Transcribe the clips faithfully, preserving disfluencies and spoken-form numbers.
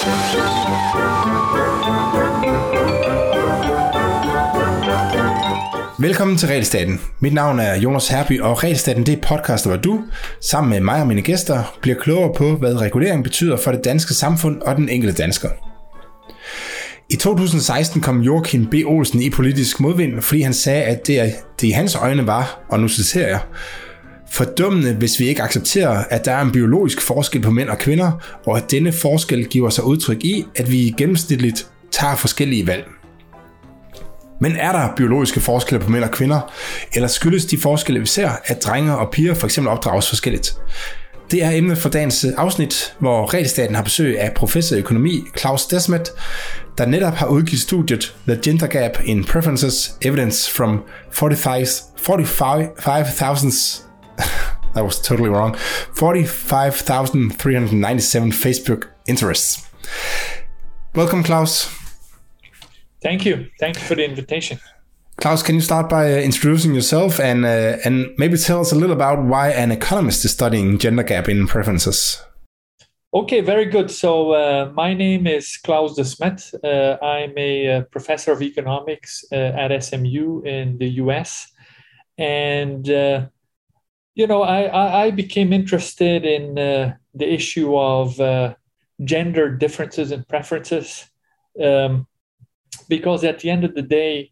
Velkommen til Regelstaten. Mit navn er Jonas Herby, og Regelstaten det er podcast, hvor du, sammen med mig og mine gæster, bliver klogere på, hvad regulering betyder for det danske samfund og den enkelte dansker. I to tusind og seksten kom Joachim B. Olsen i politisk modvind, fordi han sagde, at det, det i hans øjne var, og nu citerer jeg, fordummende, hvis vi ikke accepterer, at der er en biologisk forskel på mænd og kvinder, og at denne forskel giver sig udtryk i, at vi gennemsnitligt tager forskellige valg. Men er der biologiske forskelle på mænd og kvinder, eller skyldes de forskelle, vi ser, at drenge og piger for eksempel opdrages forskelligt? Det er emnet for dagens afsnit, hvor Regelstaten har besøg af professor i økonomi Claus Desmet, der netop har udgivet studiet The Gender Gap in Preferences Evidence from forty-five thousand that was totally wrong. forty-five thousand three hundred ninety-seven Facebook interests. Welcome, Claus. Thank you. Thank you for the invitation. Claus, can you start by uh, introducing yourself and uh, and maybe tell us a little about why an economist is studying gender gap in preferences? Okay, very good. So uh, my name is Claus Desmet. Uh, I'm a uh, professor of economics uh, at S M U in the U S. And, uh, you know, I, I became interested in uh, the issue of uh, gender differences and preferences. Um, Because at the end of the day,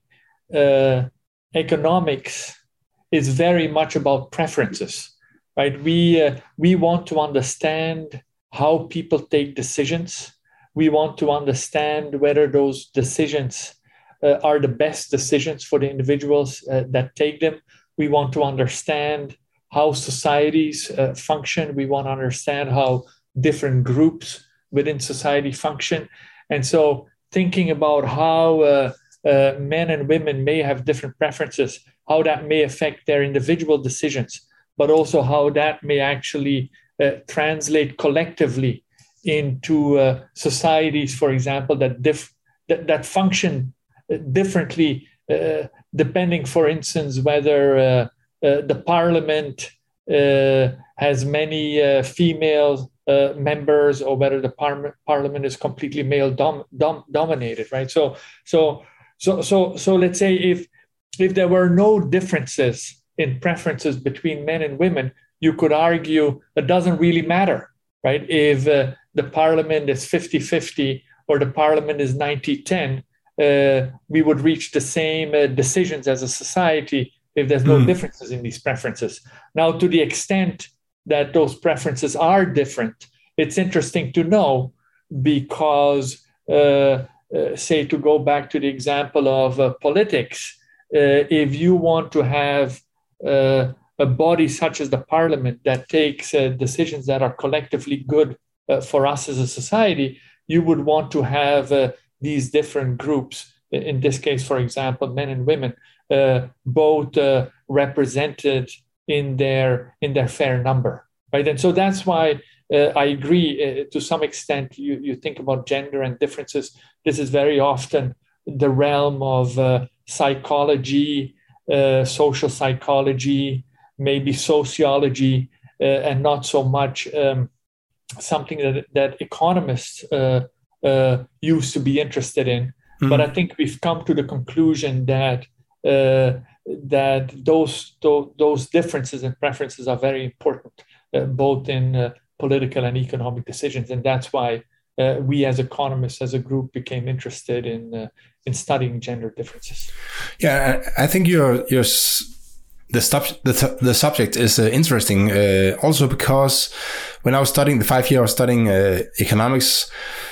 uh, economics is very much about preferences, right? We uh, we want to understand how people take decisions. We want to understand whether those decisions uh, are the best decisions for the individuals uh, that take them. We want to understand how societies uh, function. We want to understand how different groups within society function. And so thinking about how uh, uh, men and women may have different preferences, how that may affect their individual decisions, but also how that may actually uh, translate collectively into uh, societies, for example, that, dif- that, that function differently, uh, depending, for instance, whether uh, uh, the parliament uh, has many uh, female Uh, members, or whether the par- parliament is completely male dom- dom- dominated, right? So, so, so, so, so, let's say if if there were no differences in preferences between men and women, you could argue it doesn't really matter, right? If uh, the parliament is fifty-fifty or the parliament is ninety ten, uh, we would reach the same uh, decisions as a society if there's no mm. differences in these preferences. Now, to the extent that those preferences are different, it's interesting to know because, uh, uh, say, to go back to the example of uh, politics, uh, if you want to have uh, a body such as the parliament that takes uh, decisions that are collectively good uh, for us as a society, you would want to have uh, these different groups, in this case, for example, men and women, uh, both uh, represented in their in their fair number, right? And so that's why uh, I agree uh, to some extent. You you think about gender and differences. This is very often the realm of uh, psychology, uh, social psychology, maybe sociology, uh, and not so much um, something that that economists uh, uh, used to be interested in. Mm-hmm. But I think we've come to the conclusion that. Uh, that those, those those differences and preferences are very important, uh, both in uh, political and economic decisions, and that's why uh, we as economists, as a group, became interested in uh, in studying gender differences. Yeah, I think your your the sub- the the subject is uh, interesting, uh, also because when I was studying the five year, I was studying uh, economics.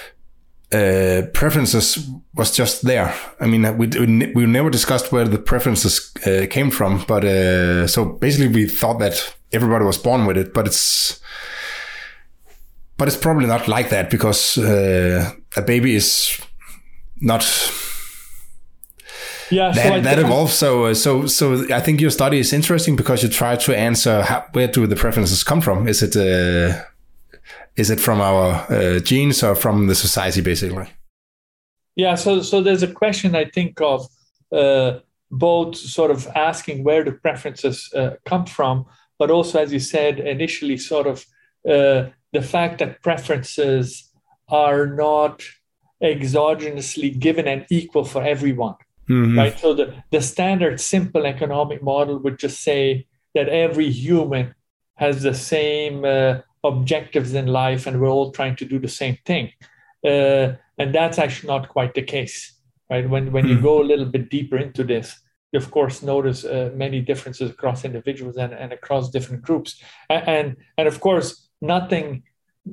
Uh, preferences was just there. I mean, we we, we never discussed where the preferences uh, came from, but uh, so basically we thought that everybody was born with it, but it's but it's probably not like that because uh, a baby is not yeah that, so that evolved. So so so I think your study is interesting because you try to answer how, where do the preferences come from? Is it uh, Is it from our uh, genes or from the society, basically? Yeah, so so there's a question, I think, of uh, both sort of asking where the preferences uh, come from, but also, as you said initially, sort of uh, the fact that preferences are not exogenously given and equal for everyone. Mm-hmm. Right? So the, the standard simple economic model would just say that every human has the same uh, objectives in life and we're all trying to do the same thing. Uh, and that's actually not quite the case, right? When, when mm-hmm. you go a little bit deeper into this, you of course notice uh, many differences across individuals and, and across different groups. And, and, and of course, nothing,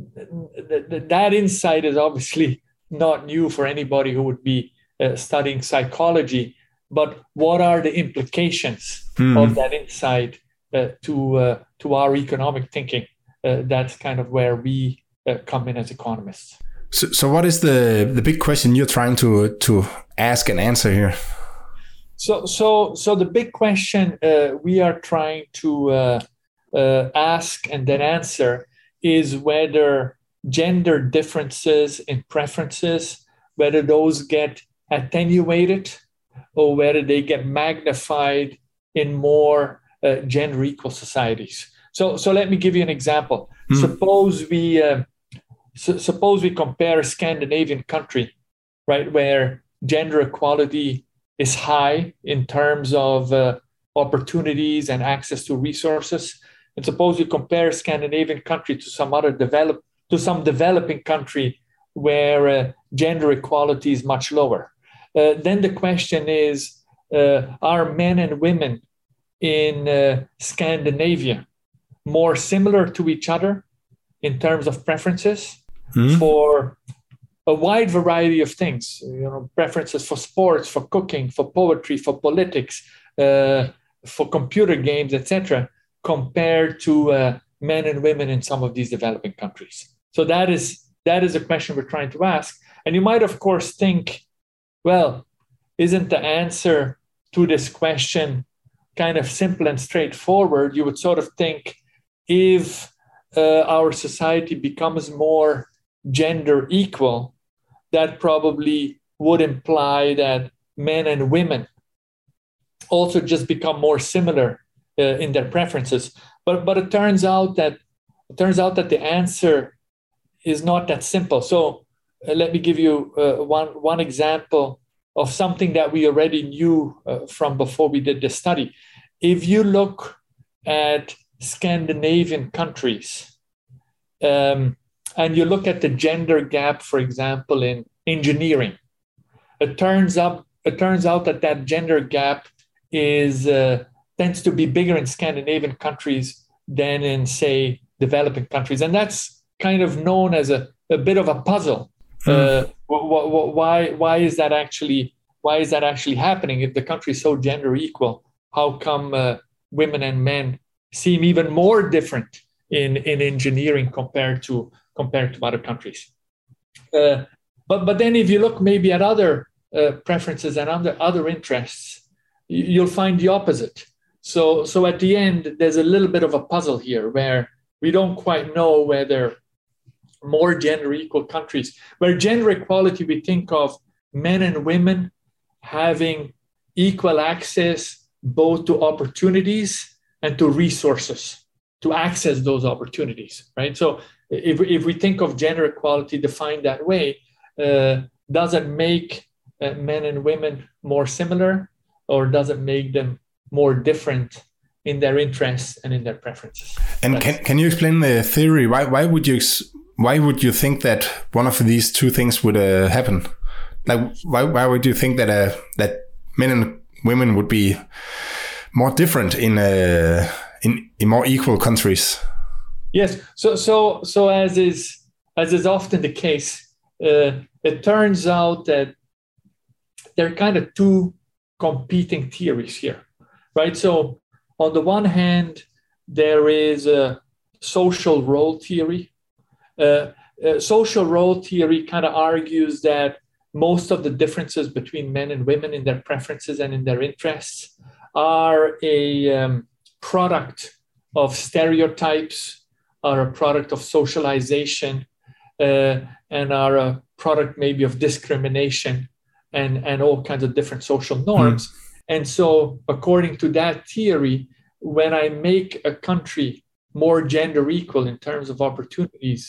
th- th- that insight is obviously not new for anybody who would be uh, studying psychology, but what are the implications mm. of that insight uh, to uh, to our economic thinking? Uh, that's kind of where we uh, come in as economists. So, so what is the the big question you're trying to to ask and answer here? So, so, so the big question uh, we are trying to uh, uh, ask and then answer is whether gender differences in preferences, whether those get attenuated or whether they get magnified in more uh, gender equal societies. So, so let me give you an example. Mm. Suppose we uh, su- suppose we compare a Scandinavian country, right, where gender equality is high in terms of uh, opportunities and access to resources, and suppose we compare a Scandinavian country to some other develop to some developing country where uh, gender equality is much lower. Uh, then the question is, uh, are men and women in uh, Scandinavia more similar to each other in terms of preferences mm-hmm. for a wide variety of things? You know, preferences for sports, for cooking, for poetry, for politics, uh, for computer games, et cetera, compared to uh, men and women in some of these developing countries. So that is that is a question we're trying to ask. And you might, of course, think, well, isn't the answer to this question kind of simple and straightforward? You would sort of think if uh, our society becomes more gender equal, that probably would imply that men and women also just become more similar uh, in their preferences. But but it turns out that it turns out that the answer is not that simple. So uh, let me give you uh, one one example of something that we already knew uh, from before we did this study. If you look at Scandinavian countries, um, and you look at the gender gap, for example, in engineering, it turns up it turns out that that gender gap is uh, tends to be bigger in Scandinavian countries than in, say, developing countries, and that's kind of known as a, a bit of a puzzle. Mm. Uh, wh- wh- why why is that actually why is that actually happening? If the country is so gender equal, how come uh, women and men seem even more different in, in engineering compared to compared to other countries? Uh, but but then if you look maybe at other uh, preferences and other other interests, you'll find the opposite. So so at the end, there's a little bit of a puzzle here where we don't quite know whether more gender equal countries, where gender equality, we think of men and women having equal access both to opportunities and to resources to access those opportunities, right? So if, if we think of gender equality defined that way, uh, does it make uh, men and women more similar, or does it make them more different in their interests and in their preferences? And can can you explain the theory? Why why would you ex- why would you think that one of these two things would uh, happen? Like why why would you think that uh, that men and women would be more different in uh, in in more equal countries? Yes. So so so as is as is often the case, uh, it turns out that there are kind of two competing theories here, right? So on the one hand, there is a social role theory. Uh, uh, social role theory kind of argues that most of the differences between men and women in their preferences and in their interests are a um, product of stereotypes, are a product of socialization, uh, and are a product maybe of discrimination and, and all kinds of different social norms. Mm. And so according to that theory, when I make a country more gender equal in terms of opportunities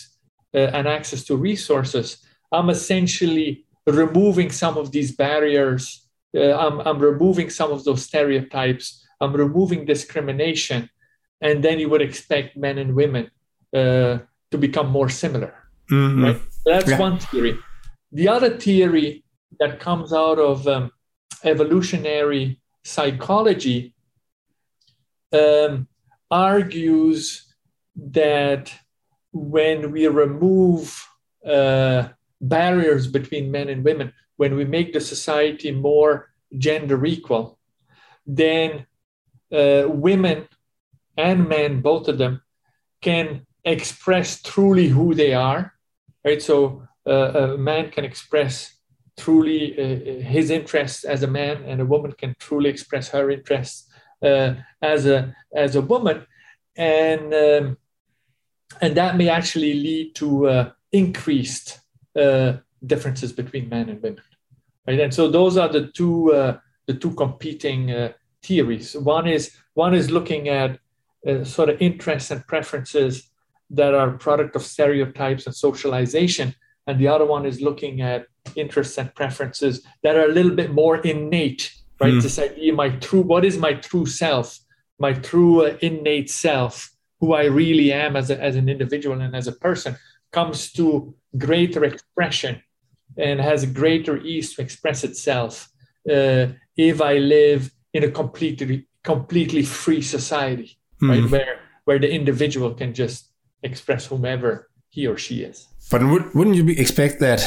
uh, and access to resources, I'm essentially removing some of these barriers. Uh, I'm, I'm removing some of those stereotypes. I'm removing discrimination. And then you would expect men and women uh, to become more similar. Mm-hmm. Right? So that's yeah. one theory. The other theory that comes out of um, evolutionary psychology um, argues that when we remove uh, barriers between men and women, when we make the society more gender equal, then uh, women and men, both of them, can express truly who they are, right? So uh, a man can express truly uh, his interests as a man, and a woman can truly express her interests uh, as a as a woman, and um, and that may actually lead to uh, increased uh, differences between men and women, right? And so those are the two uh, the two competing uh, theories. One is one is looking at uh, sort of interests and preferences that are a product of stereotypes and socialization, and the other one is looking at interests and preferences that are a little bit more innate, right? Mm. This idea, my true, what is my true self, my true uh, innate self, who I really am as, a, as an individual and as a person, comes to greater expression and has greater ease to express itself uh, if I live in a completely completely free society, mm. right? Where where the individual can just express whomever he or she is. But would, wouldn't you be, expect that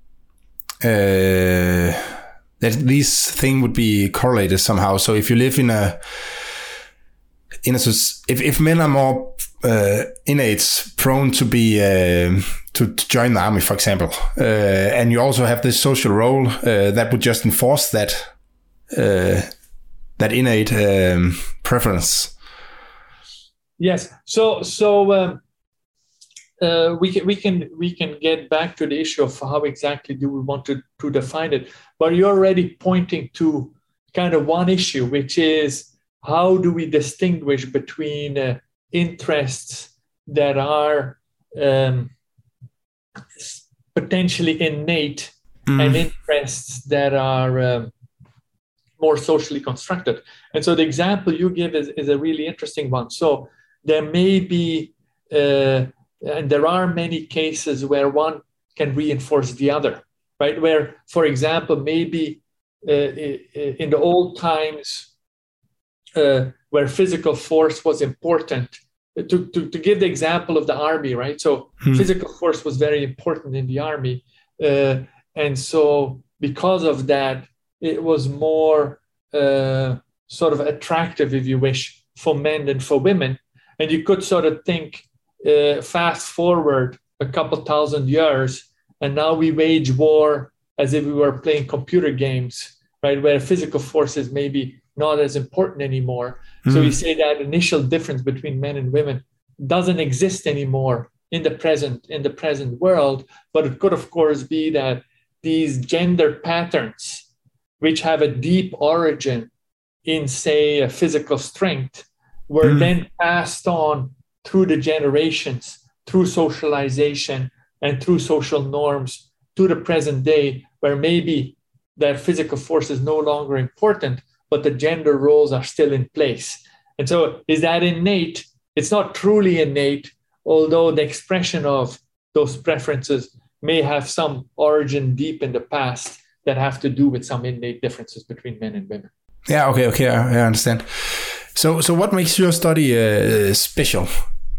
uh, that these thing would be correlated somehow? So if you live in a in a if if men are more uh, innate, prone to be uh, to, to join the army, for example, uh, and you also have this social role uh, that would just enforce that uh, that innate um, preference. Yes. So so. Um, Uh, we can we can we can get back to the issue of how exactly do we want to, to define it, but you're already pointing to kind of one issue, which is how do we distinguish between uh, interests that are um, potentially innate mm. and interests that are um, more socially constructed. And so the example you give is, is a really interesting one. So there may be uh, and there are many cases where one can reinforce the other, right? Where, for example, maybe uh, in the old times uh, where physical force was important, to, to, to give the example of the army, right? So hmm. physical force was very important in the army. Uh, and so because of that, it was more uh, sort of attractive, if you wish, for men than for women. And you could sort of think, Uh, fast forward a couple thousand years, and now we wage war as if we were playing computer games, right? Where physical force is maybe not as important anymore. Mm. So we say that initial difference between men and women doesn't exist anymore in the present in the present world. But it could, of course, be that these gender patterns, which have a deep origin in, say, a physical strength, were mm. then passed on through the generations, through socialization and through social norms to the present day, where maybe that physical force is no longer important, but the gender roles are still in place. And so is that innate? It's not truly innate, although the expression of those preferences may have some origin deep in the past that have to do with some innate differences between men and women. Yeah, okay, okay, I, I understand. So, so what makes your study uh, special?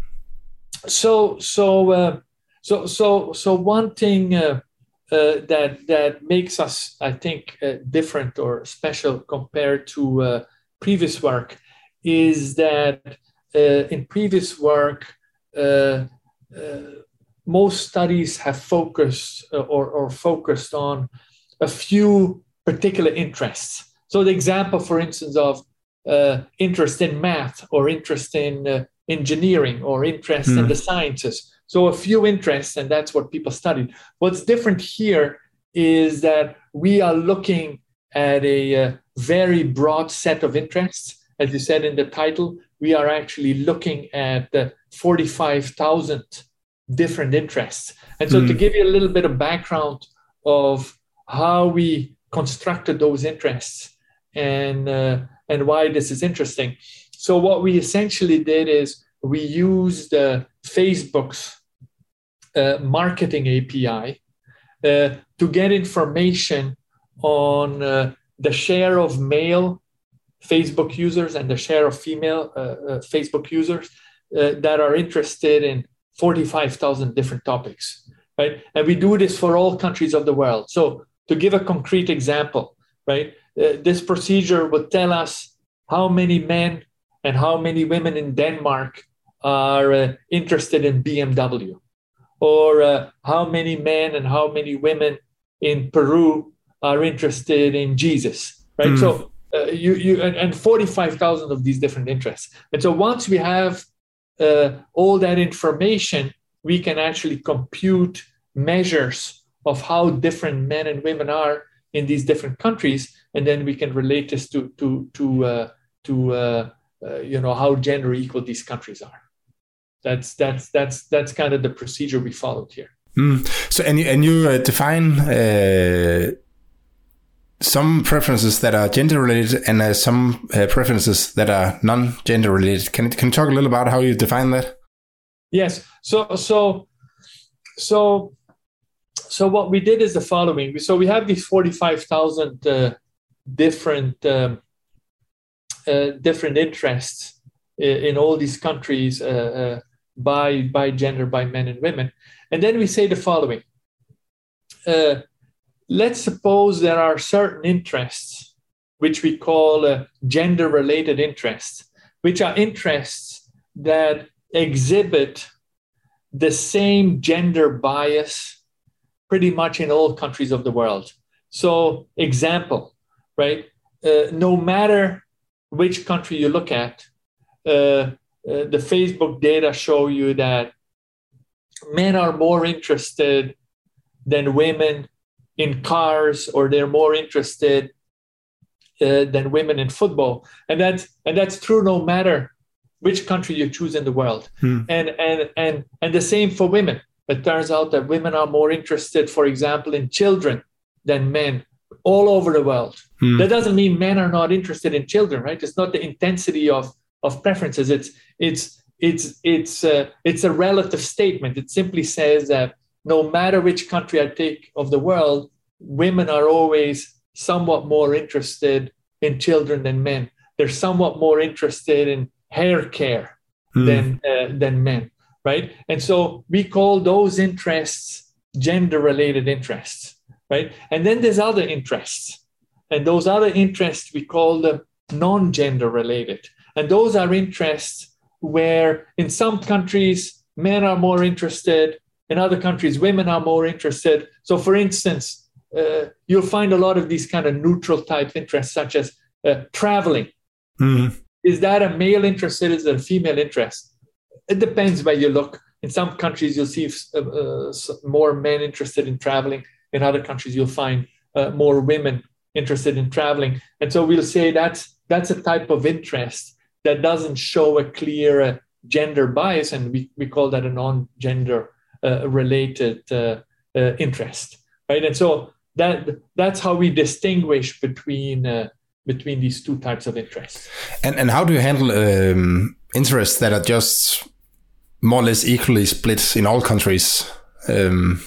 So, so, uh, so, so, so, one thing uh, uh, that that makes us, I think, uh, different or special compared to uh, previous work is that uh, in previous work, uh, uh, most studies have focused uh, or, or focused on a few particular interests. So, the example, for instance, of uh, interest in math or interest in uh, engineering or interest mm. in the sciences. So a few interests, and that's what people studied. What's different here is that we are looking at a, a very broad set of interests. As you said in the title, we are actually looking at uh, forty-five thousand different interests. And so mm. to give you a little bit of background of how we constructed those interests and uh, and why this is interesting. So what we essentially did is we used uh, Facebook's uh, marketing A P I uh, to get information on uh, the share of male Facebook users and the share of female uh, uh, Facebook users uh, that are interested in forty-five thousand different topics, right? And we do this for all countries of the world. So to give a concrete example, right, uh, this procedure would tell us how many men and how many women in Denmark are uh, interested in B M W, or uh, how many men and how many women in Peru are interested in Jesus, right? Mm. So uh, you you and, and forty-five thousand of these different interests. And so once we have uh, all that information, we can actually compute measures of how different men and women are in these different countries, and then we can relate this to to to uh, to uh, uh, you know, how gender equal these countries are. That's that's that's that's kind of the procedure we followed here. Mm. So and you, and you uh, define uh, some preferences that are gender related and uh, some uh, preferences that are non-gender related. Can can you talk a little about how you define that? Yes. So so so so what we did is the following. So we have these forty-five thousand uh, different um, uh, different interests in, in all these countries. Uh, uh, by by gender, by men and women. And then we say the following. Uh, let's suppose there are certain interests, which we call uh, gender-related interests, which are interests that exhibit the same gender bias pretty much in all countries of the world. So, example, right? Uh, no matter which country you look at, uh, Uh, the Facebook data show you that men are more interested than women in cars, or they're more interested uh, than women in football, and that's and that's true no matter which country you choose in the world. Hmm. And and and and the same for women. It turns out that women are more interested, for example, in children than men all over the world. Hmm. That doesn't mean men are not interested in children, right? It's not the intensity of of preferences. It's it's it's it's uh, it's a relative statement. It simply says that no matter which country I take of the world, women are always somewhat more interested in children than men. They're somewhat more interested in hair care mm. than uh, than men, right? And so we call those interests gender-related interests, right? And then there's other interests, and those other interests we call them non-gender related. And those are interests where in some countries, men are more interested. In other countries, women are more interested. So for instance, uh, you'll find a lot of these kind of neutral type interests, such as uh, traveling. Mm. Is that a male interest? Is it a female interest? It depends where you look. In some countries, you'll see uh, uh, more men interested in traveling. In other countries, you'll find uh, more women interested in traveling. And so we'll say that's that's a type of interest that doesn't show a clear uh, gender bias, and we, we call that a non-gender uh, related uh, uh, interest, right? And so that that's how we distinguish between uh, between these two types of interests. And and how do you handle um, interests that are just more or less equally split in all countries? Um,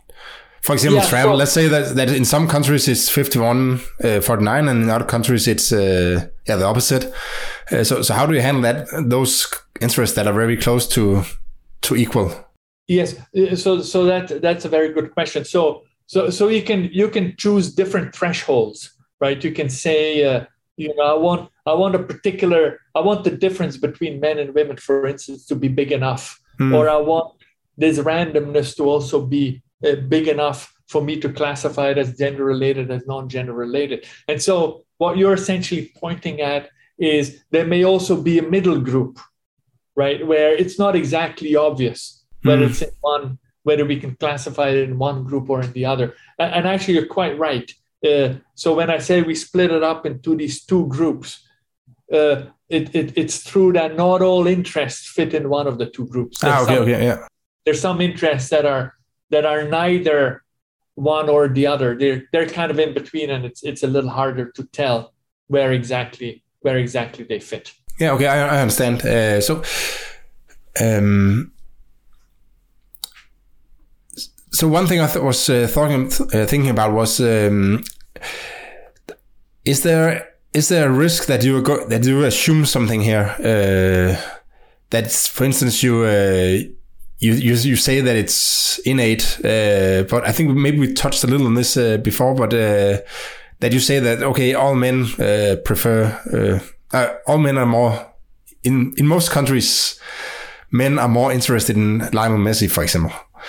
for example, yeah, travel. So, let's say that, that in some countries it's fifty-one, forty-nine, and in other countries it's uh, yeah the opposite. Uh, so, so how do you handle that? Those interests that are very close to to equal. Yes. So, so that that's a very good question. So, so, so you can you can choose different thresholds, right? You can say, uh, you know, I want I want a particular I want the difference between men and women, for instance, to be big enough, mm. or I want this randomness to also be uh, big enough for me to classify it as gender related, as non-gender related. And so, what you're essentially pointing at is there may also be a middle group, right, where it's not exactly obvious whether mm. it's in one, whether we can classify it in one group or in the other. And, and actually, you're quite right. Uh, so when I say we split it up into these two groups, uh, it, it, it's true that not all interests fit in one of the two groups. Ah, okay, some, okay, yeah. there's some interests that are that are neither one or the other. They're they're kind of in between, and it's it's a little harder to tell where exactly where exactly they fit. Yeah, okay, I, I understand. Uh, so, um, so one thing I th- was uh, talking, uh, thinking about was, um, is there is there a risk that you go, that you assume something here? Uh, that's, for instance, you. Uh, You, you you say that it's innate, uh, but I think maybe we touched a little on this uh, before. But uh, that you say that okay, all men uh, prefer, uh, uh, all men are more in in most countries, men are more interested in Lionel Messi, for example.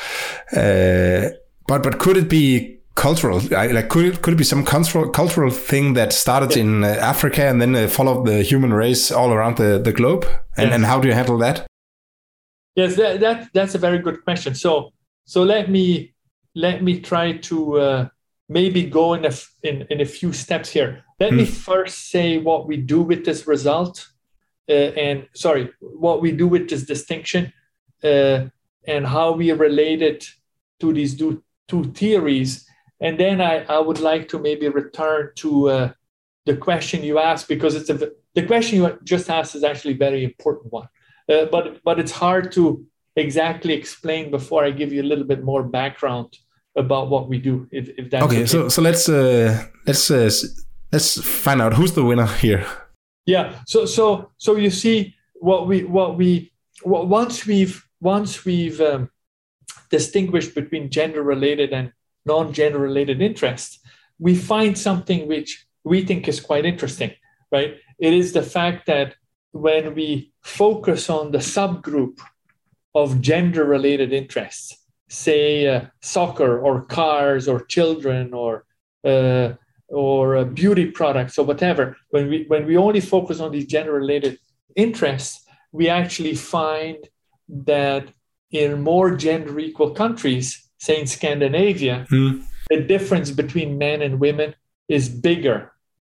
Uh, but but could it be cultural? Like could it could it be some cultural cultural thing that started yeah. in uh, Africa and then uh, followed the human race all around the, the globe? And yes. and how do you handle that? Yes, that, that that's a very good question. So so let me let me try to uh, maybe go in a in, in a few steps here. Let mm. me first say what we do with this result, uh, and sorry, what we do with this distinction, uh, and how we relate it to these two, two theories. And then I, I would like to maybe return to uh, the question you asked, because it's a the question you just asked is actually a very important one. Uh, but but it's hard to exactly explain before I give you a little bit more background about what we do. If, if that's okay, okay. so so let's uh, let's uh, let's find out who's the winner here. Yeah. So so so you see what we what we what, once we've once we've um, distinguished between gender-related and non-gender-related interests, we find something which we think is quite interesting, right? It is the fact that when we focus on the subgroup of gender-related interests, say uh, soccer or cars or children or uh, or uh, beauty products or whatever, when we when we only focus on these gender-related interests, we actually find that in more gender-equal countries, say in Scandinavia, mm. the difference between men and women is bigger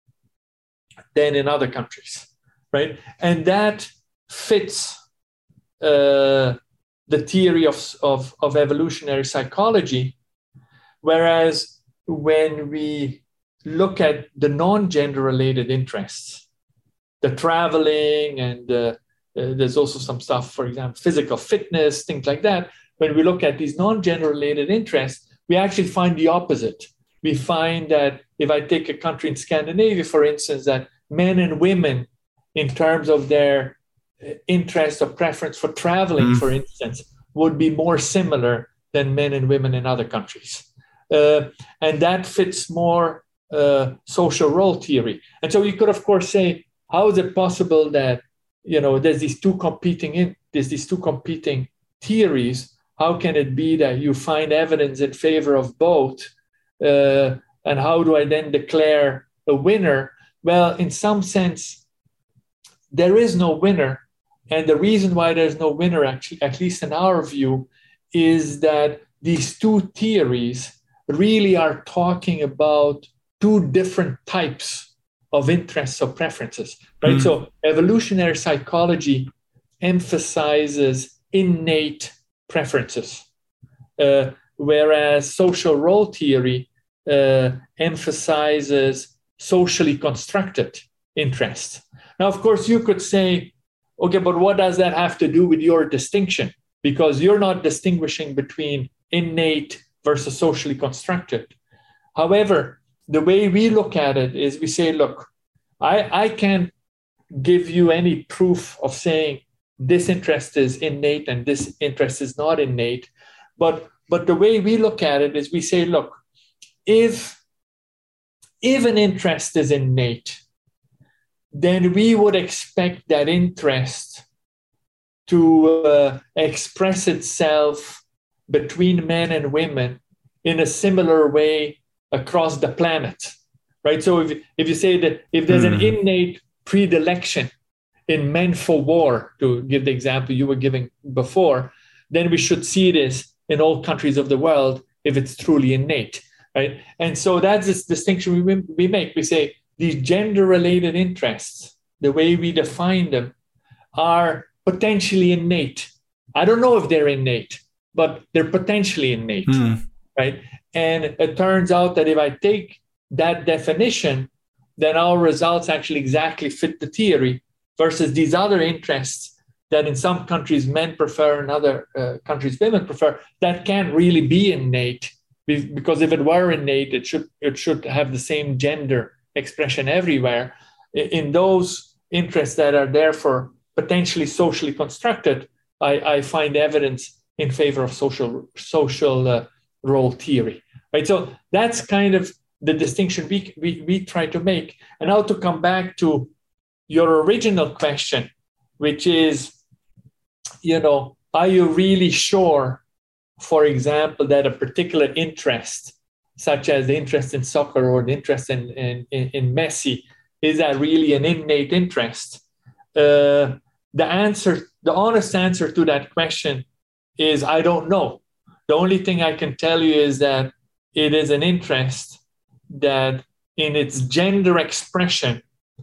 than in other countries. Right, and that fits uh, the theory of, of, of evolutionary psychology, whereas when we look at the non-gender-related interests, the traveling and uh, uh, there's also some stuff, for example, physical fitness, things like that. When we look at these non-gender-related interests, we actually find the opposite. We find that if I take a country in Scandinavia, for instance, that men and women, in terms of their interest or preference for traveling, mm. for instance, would be more similar than men and women in other countries. Uh, and that fits more uh, social role theory. And so you could, of course, say, how is it possible that, you know, there's these two competing in, there's these two competing theories? How can it be that you find evidence in favor of both? Uh, and how do I then declare a winner? Well, in some sense, there is no winner. And the reason why there's no winner, actually, at least in our view, is that these two theories really are talking about two different types of interests or preferences, right? Mm. So evolutionary psychology emphasizes innate preferences, uh, whereas social role theory uh, emphasizes socially constructed interests. Now, of course, you could say, okay, but what does that have to do with your distinction? Because you're not distinguishing between innate versus socially constructed. However, the way we look at it is we say, look, I, I can't give you any proof of saying this interest is innate and this interest is not innate. But, but the way we look at it is we say, look, if, if an interest is innate, then we would expect that interest to uh, express itself between men and women in a similar way across the planet, right? So if, if you say that if there's mm. an innate predilection in men for war, to give the example you were giving before, then we should see this in all countries of the world if it's truly innate, right? And so that's this distinction we, we make. We say these gender-related interests, the way we define them, are potentially innate. I don't know if they're innate, but they're potentially innate, Mm. right? And it turns out that if I take that definition, then our results actually exactly fit the theory versus these other interests that in some countries men prefer and other uh, countries women prefer, that can't really be innate, because if it were innate, it should it should have the same gender expression everywhere. In those interests that are therefore potentially socially constructed, I, I find evidence in favor of social social uh, role theory, right? So that's kind of the distinction we, we we try to make. And now to come back to your original question, which is, you know, are you really sure, for example, that a particular interest, such as the interest in soccer or the interest in, in, in Messi, is that really an innate interest? Uh, the answer, the honest answer to that question is I don't know. The only thing I can tell you is that it is an interest that in its gender expression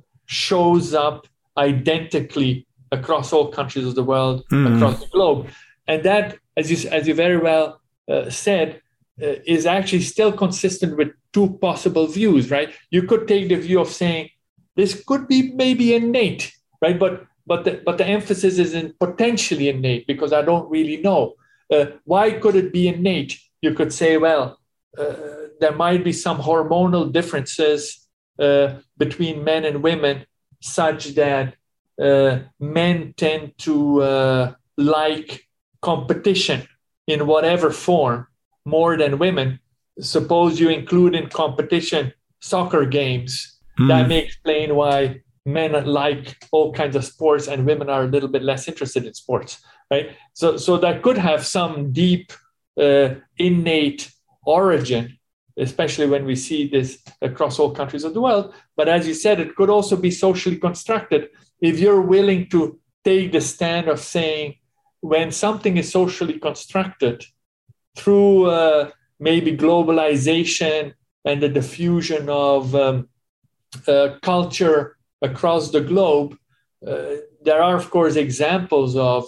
shows up identically across all countries of the world, mm. across the globe. And that, as you, as you very well uh, said, uh, is actually still consistent with two possible views, right? You could take the view of saying this could be maybe innate, right? But but the, but the emphasis is in potentially innate, because I don't really know. Uh, why could it be innate? You could say, well, uh, there might be some hormonal differences uh, between men and women such that uh, men tend to uh, like competition in whatever form more than women. Suppose you include in competition soccer games. Mm. That may explain why men like all kinds of sports and women are a little bit less interested in sports, right? So, so that could have some deep uh, innate origin, especially when we see this across all countries of the world. But as you said, it could also be socially constructed if you're willing to take the stand of saying, when something is socially constructed through uh, maybe globalization and the diffusion of um, uh, culture across the globe, uh, there are, of course, examples of,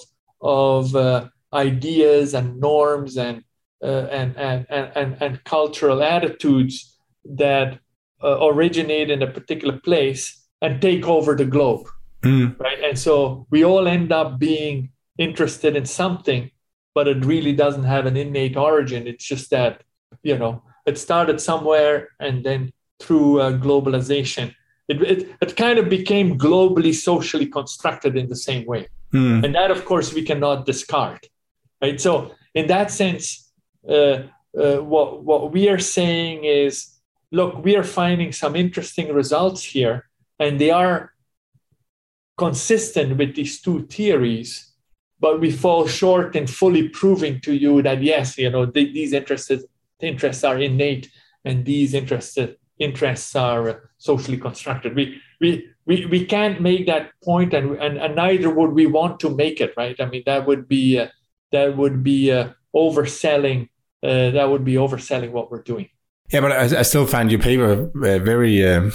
of uh, ideas and norms and, uh, and, and, and, and cultural attitudes that uh, originate in a particular place and take over the globe, mm. right? And so we all end up being interested in something, but it really doesn't have an innate origin. It's just that, you know, it started somewhere, and then through uh, globalization, it, it it kind of became globally socially constructed in the same way. Mm. And that, of course, we cannot discard, right? So in that sense, uh, uh, what, what we are saying is, look, we are finding some interesting results here, and they are consistent with these two theories, but we fall short in fully proving to you that, yes, you know, th- these interests, interests are innate, and these interests, interests are socially constructed. We, we, we, we can't make that point, and, and, and neither would we want to make it, right? I mean, that would be, uh, that would be uh, overselling, uh, that would be overselling what we're doing. Yeah, but I, I still find your paper uh, very, um,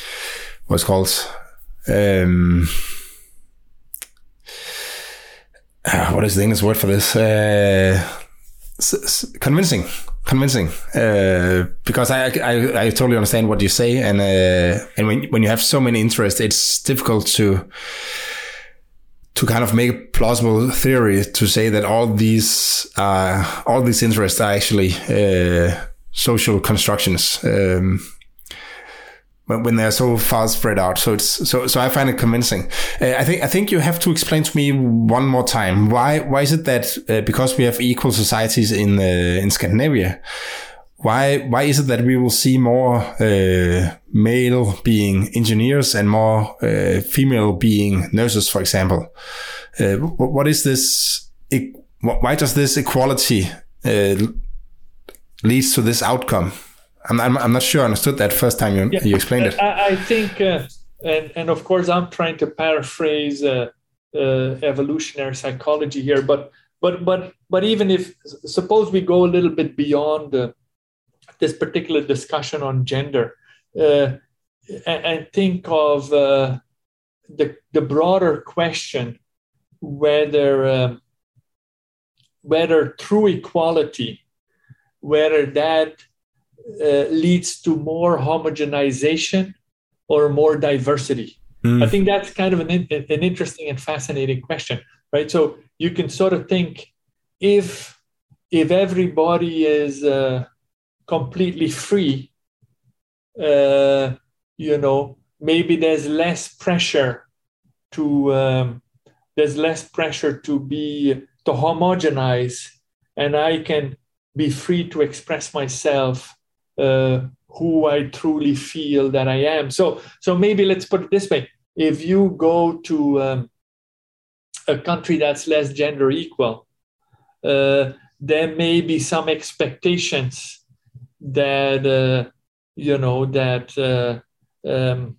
what's called, um, uh, what is the English word for this? Uh, s- s- convincing, convincing. Uh, because I, I I totally understand what you say, and uh, and when when you have so many interests, it's difficult to to kind of make a plausible theory to say that all these uh, all these interests are actually uh, social constructions. Um, when they're so far spread out. So it's, so, so I find it convincing. Uh, I think, I think you have to explain to me one more time. Why, why is it that, uh, because we have equal societies in, uh, in Scandinavia, why, why is it that we will see more, uh, male being engineers and more, uh, female being nurses, for example? Uh, what is this, why does this equality, uh, leads to this outcome? I'm, I'm I'm not sure I understood that first time you, yeah, you explained it. I, I think, uh, and, and of course, I'm trying to paraphrase uh, uh, evolutionary psychology here, but but but but even if, suppose we go a little bit beyond uh, this particular discussion on gender, uh, and, and think of uh, the the broader question whether uh, whether true equality, whether that uh, leads to more homogenization or more diversity. Mm. I think that's kind of an, an interesting and fascinating question, right? So you can sort of think, if if everybody is uh, completely free, uh, you know, maybe there's less pressure to um, there's less pressure to be to homogenize, and I can be free to express myself, uh, who I truly feel that I am. So, so maybe let's put it this way: if you go to um, a country that's less gender equal, uh, there may be some expectations that uh, you know that uh, um,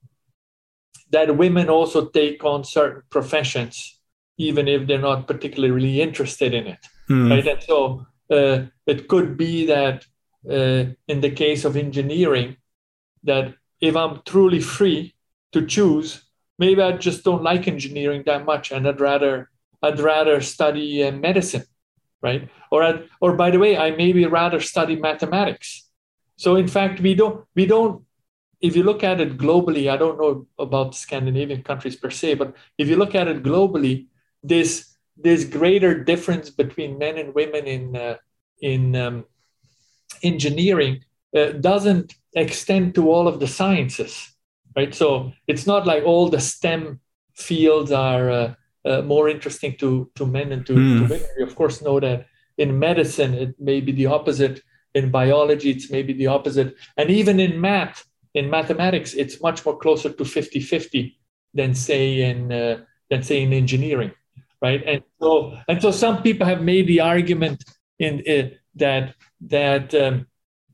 that women also take on certain professions, even if they're not particularly interested in it, mm. right? And so uh, it could be that uh, in the case of engineering, that if I'm truly free to choose, maybe I just don't like engineering that much, and I'd rather I'd rather study uh, medicine, right? Or I'd, or by the way, I maybe rather study mathematics. So in fact, we don't we don't. If you look at it globally, I don't know about Scandinavian countries per se, but if you look at it globally, this this greater difference between men and women in uh, in um, engineering uh, doesn't extend to all of the sciences, right? So it's not like all the STEM fields are uh, uh, more interesting to to men and to, mm. to women. We of course know that in medicine it may be the opposite. In biology, it's maybe the opposite, and even in math. In mathematics, it's much more closer to fifty-fifty than say in uh, than say in engineering, right? And so and so some people have made the argument in uh, that that um,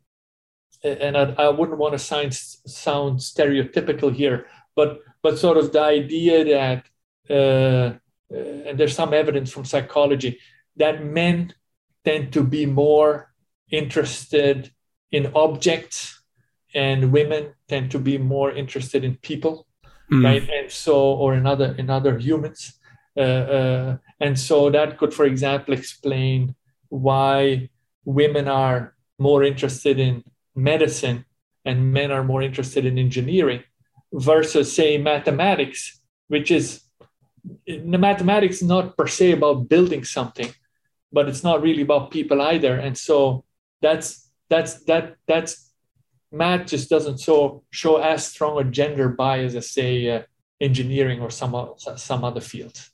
and I, I wouldn't want to sound sound stereotypical here, but but sort of the idea that uh, uh, and there's some evidence from psychology that men tend to be more interested in objects, and women tend to be more interested in people, mm. right? And so, or in other in other humans, uh, uh, and so that could, for example, explain why women are more interested in medicine and men are more interested in engineering, versus, say, mathematics, which is the mathematics not per se about building something, but it's not really about people either. And so that's that's that that's. Math just doesn't so show as strong a gender bias as, say, uh, engineering or some, some other fields.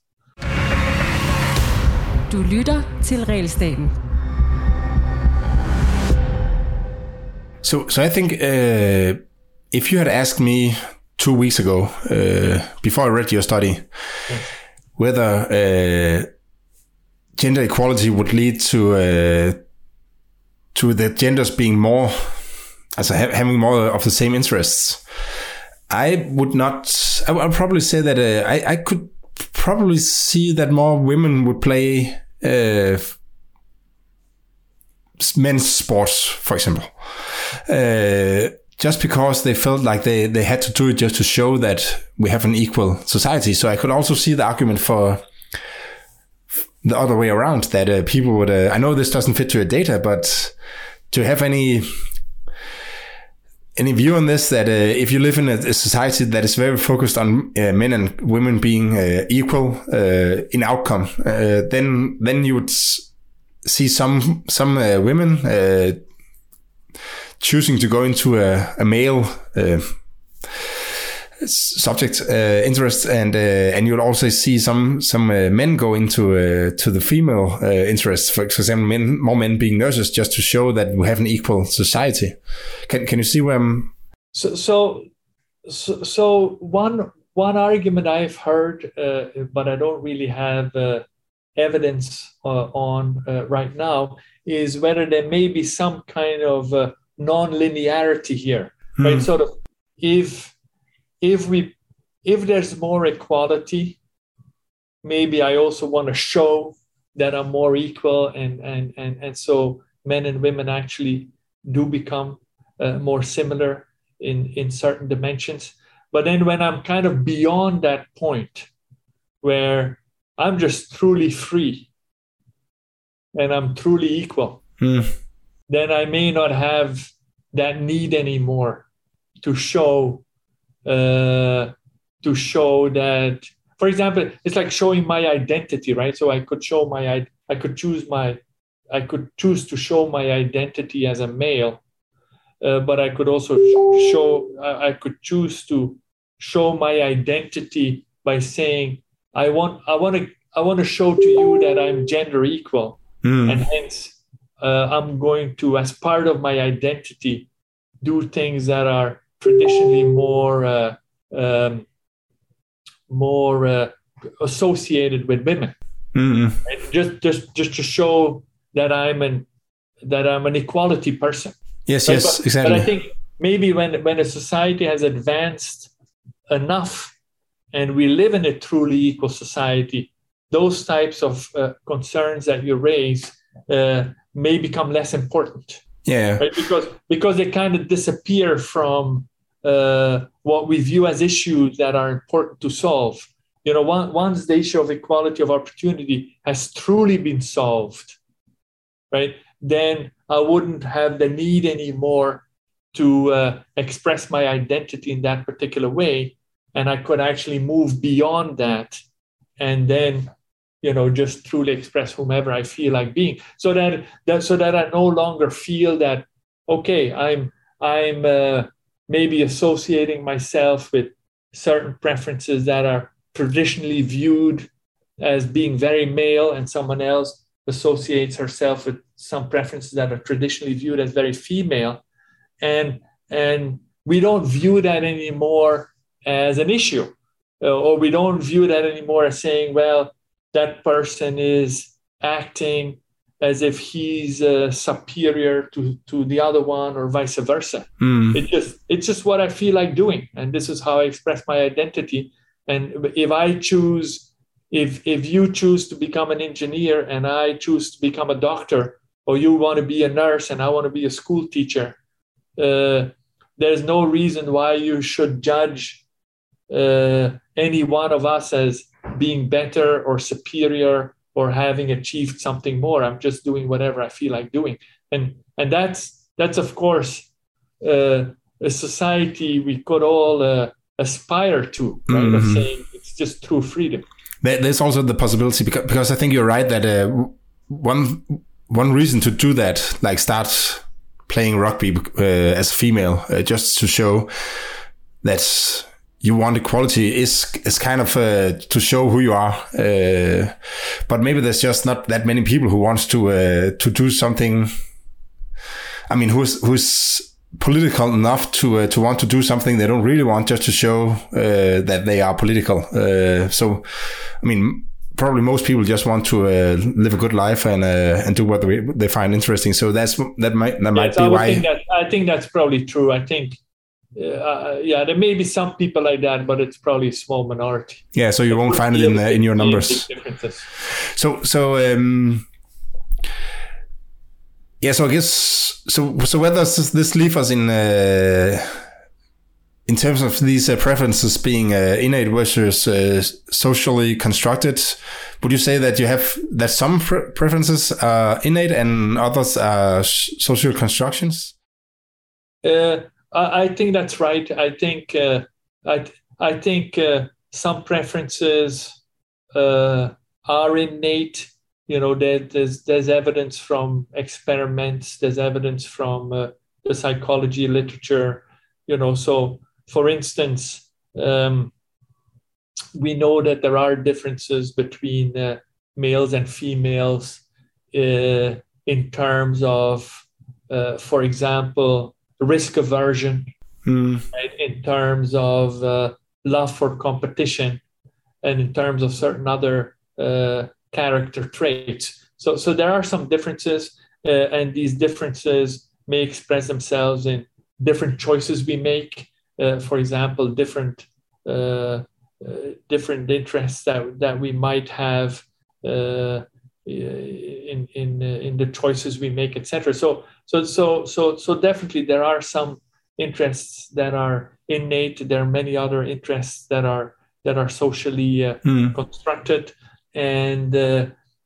Du lytter til Regelstaten. So, so I think uh, if you had asked me two weeks ago, uh, before I read your study, yes. whether uh, gender equality would lead to uh, to the genders being more Also having more of the same interests, I would not. I would probably say that uh, I, I could probably see that more women would play uh, men's sports, for example, uh, just because they felt like they, they had to do it just to show that we have an equal society. So I could also see the argument for the other way around, that uh, people would. Uh, I know this doesn't fit to your data, but to have any. Any view on this, that uh, if you live in a, a society that is very focused on uh, men and women being uh, equal uh, in outcome, uh, then then you would see some some uh, women uh, choosing to go into a, a male uh, subject uh, interest, and uh, and you will also see some some uh, men go into uh, to the female uh, interest. For example, men, more men being nurses, just to show that we have an equal society. Can can you see where I'm? So so so, so one one argument I've heard, uh, but I don't really have uh, evidence uh, on uh, right now, is whether there may be some kind of uh, non-linearity here, hmm. right? Sort of if. If we, if there's more equality, maybe I also want to show that I'm more equal, and and and and so men and women actually do become uh, more similar in in certain dimensions. But then when I'm kind of beyond that point, where I'm just truly free, and I'm truly equal, Mm. then I may not have that need anymore to show uh, to show that. For example, it's like showing my identity, right? So I could show my I could choose my I could choose to show my identity as a male, uh, but I could also show I could choose to show my identity by saying I want I want to I want to show to you that I'm gender equal, mm. and hence uh, I'm going to, as part of my identity, do things that are traditionally more uh, um, more uh, associated with women, mm-hmm. right? Just just just to show that I'm an that I'm an equality person. Yes, right? yes, but, exactly. But I think maybe when when a society has advanced enough, and we live in a truly equal society, those types of uh, concerns that you raise uh, may become less important. Yeah, right? Because because they kind of disappear from uh, what we view as issues that are important to solve. You know, one, once the issue of equality of opportunity has truly been solved, right, then I wouldn't have the need anymore to uh, express my identity in that particular way, and I could actually move beyond that, and then, you know, just truly express whomever I feel like being, so that, that so that I no longer feel that, okay, I'm I'm uh, maybe associating myself with certain preferences that are traditionally viewed as being very male, and someone else associates herself with some preferences that are traditionally viewed as very female, and and we don't view that anymore as an issue, uh, or we don't view that anymore as saying, well, that person is acting as if he's uh, superior to, to the other one, or vice versa. Mm. It just it's just what I feel like doing, and this is how I express my identity. And if I choose, if if you choose to become an engineer and I choose to become a doctor, or you want to be a nurse and I want to be a school teacher, uh, there's no reason why you should judge uh, any one of us as being better or superior or having achieved something more. I'm just doing whatever I feel like doing. And and that's, that's of course, uh, a society we could all uh, aspire to, right? Mm-hmm. Of saying it's just true freedom. There's also the possibility, because, because I think you're right, that uh, one one reason to do that, like start playing rugby uh, as a female, uh, just to show that you want equality, is is kind of uh, to show who you are. Uh, but maybe there's just not that many people who wants to uh, to do something. I mean, who's who's political enough to uh, to want to do something they don't really want, just to show uh, that they are political. Uh, so, I mean, probably most people just want to uh, live a good life and uh, and do what they, they find interesting. So that's that might that might yes, be I why. Think that, I think that's probably true. I think. Uh, yeah, there may be some people like that, but it's probably a small minority. Yeah, so you it won't find it in uh, in your numbers. So so um, yeah, so I guess so. So where does this leave us in uh, in terms of these uh, preferences being uh, innate versus uh, socially constructed? Would you say that you have that some pre- preferences are innate and others are social constructions? Uh, I think that's right. I think uh, I I think uh, some preferences uh, are innate. You know, there, there's there's evidence from experiments. There's evidence from uh, the psychology literature. You know, so for instance, um, we know that there are differences between uh, males and females uh, in terms of, uh, for example, risk aversion, mm. right? In terms of uh, love for competition, and in terms of certain other uh, character traits. So, so there are some differences, uh, and these differences may express themselves in different choices we make. Uh, for example, different uh, uh, different interests that that we might have uh, in in in the choices we make, et cetera. So so so so so definitely there are some interests that are innate. There are many other interests that are that are socially uh, mm. constructed, and uh,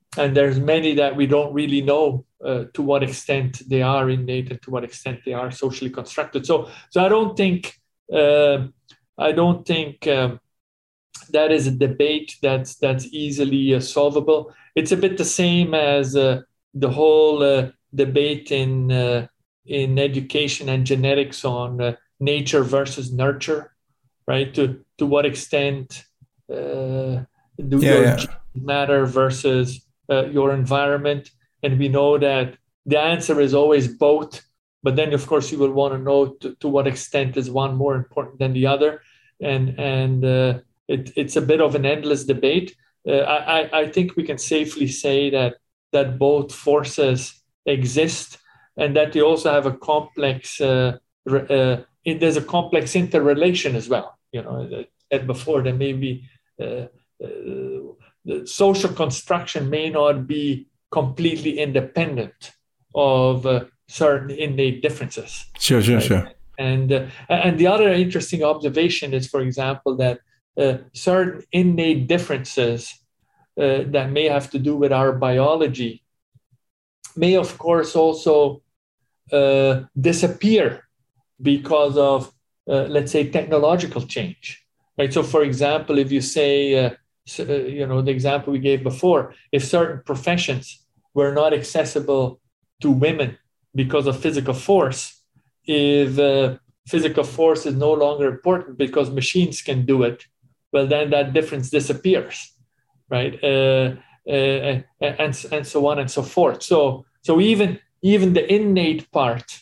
and there's many that we don't really know uh, to what extent they are innate and to what extent they are socially constructed. So, so I don't think uh, I don't think um, that is a debate that's that's easily uh, solvable. It's a bit the same as uh, the whole uh, debate in uh, in education and genetics on uh, nature versus nurture, right? To to what extent uh, do yeah, your yeah. genes matter versus uh, your environment? And we know that the answer is always both. But then, of course, you will want to know to, to what extent is one more important than the other, and and uh, it, it's a bit of an endless debate. Uh, I I think we can safely say that that both forces exist, and that they also have a complex. Uh, uh, there's a complex interrelation as well. You know, as before, there may be uh, uh, the social construction may not be completely independent of uh, certain innate differences. Sure, sure, right? sure. And uh, and the other interesting observation is, for example, that uh, certain innate differences uh, that may have to do with our biology may, of course, also uh, disappear because of, uh, let's say, technological change. Right. So, for example, if you say, uh, so, uh, you know, the example we gave before, if certain professions were not accessible to women because of physical force, if uh, physical force is no longer important because machines can do it, well, then that difference disappears, right? Uh, uh, and and so on and so forth. So so even even the innate part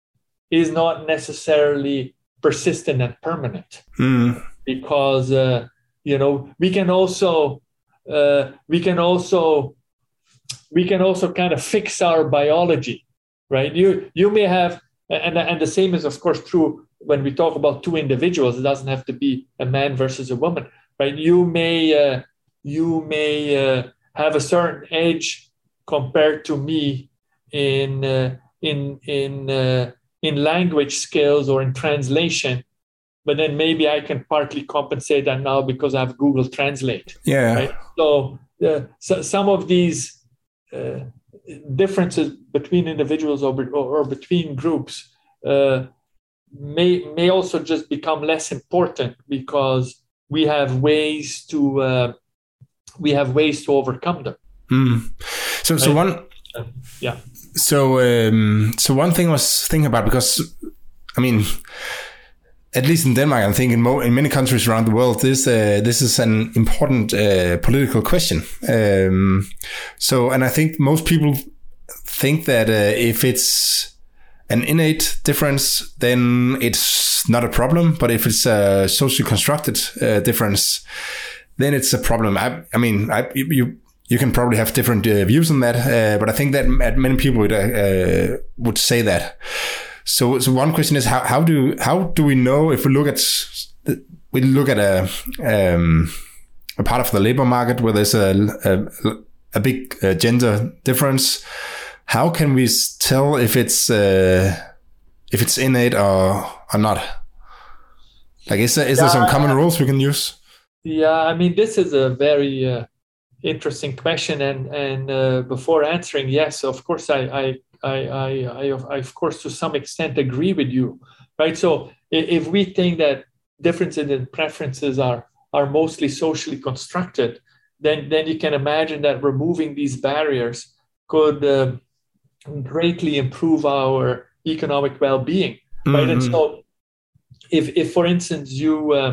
is not necessarily persistent and permanent, mm. because uh, you know we can also uh, we can also we can also kind of fix our biology, right? You you may have, and and the same is of course true when we talk about two individuals. It doesn't have to be a man versus a woman, right? You may uh, you may uh, have a certain edge compared to me in uh, in in uh, in language skills or in translation, but then maybe I can partly compensate that now because I have Google Translate. Yeah. Right? So, uh, so some of these uh, differences between individuals or, or, or between groups uh, may may also just become less important because we have ways to uh, we have ways to overcome them. Mm. So, right? so one, uh, yeah. So, um, so one thing I was thinking about, because I mean, at least in Denmark, I think in, mo- in many countries around the world, this uh, this is an important uh, political question. Um, so, and I think most people think that uh, if it's an innate difference, then it's not a problem. But if it's a socially constructed uh, difference, then it's a problem. I, I mean, I, you you can probably have different uh, views on that, uh, but I think that many people would uh, would say that. So, so one question is how how do how do we know if we look at we look at a um, a part of the labor market where there's a a, a big uh, gender difference? How can we tell if it's uh, if it's innate or or not? Like, is there is there some common rules we can use? Yeah, I mean, this is a very uh, interesting question, and and uh, before answering, yes, of course, I I. I, I, I, I, of course, to some extent agree with you, right? So if we think that differences in preferences are, are mostly socially constructed, then, then you can imagine that removing these barriers could uh, greatly improve our economic well-being, mm-hmm. right? And so if, if for instance, you, uh,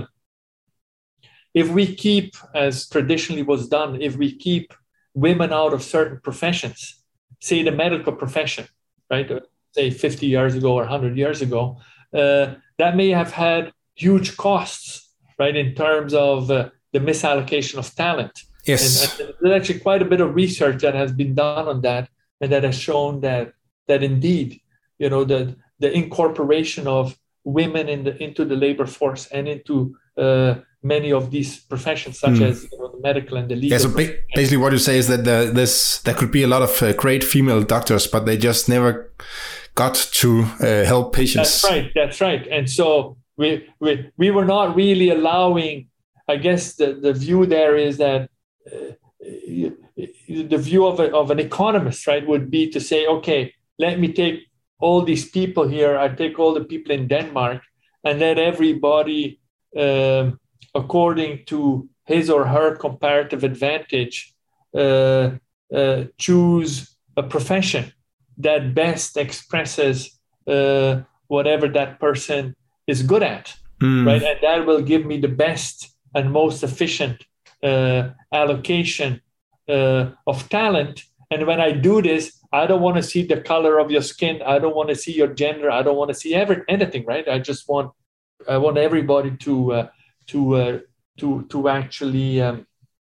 if we keep, as traditionally was done, if we keep women out of certain professions, say the medical profession, right? Say fifty years ago or one hundred years ago, uh, that may have had huge costs, right? In terms of uh, the misallocation of talent. Yes. And, and there's actually quite a bit of research that has been done on that, and that has shown that that indeed, you know, the the incorporation of women in the into the labor force and into uh, many of these professions, such mm. as you know, the medical and the legal. Yeah, so ba- basically what you say is that the, this there could be a lot of uh, great female doctors, but they just never got to uh, help patients. That's right. That's right. And so we we we were not really allowing. I guess the, the view there is that uh, the view of, a, of an economist, right, would be to say, okay, let me take all these people here, I take all the people in Denmark, and let everybody, um, according to his or her comparative advantage, uh, uh, choose a profession that best expresses uh, whatever that person is good at, mm. right? And that will give me the best and most efficient uh, allocation uh, of talent. And when I do this, I don't want to see the color of your skin. I don't want to see your gender. I don't want to see every, anything, right? I just want, I want everybody to, uh, to, uh, to, to actually um,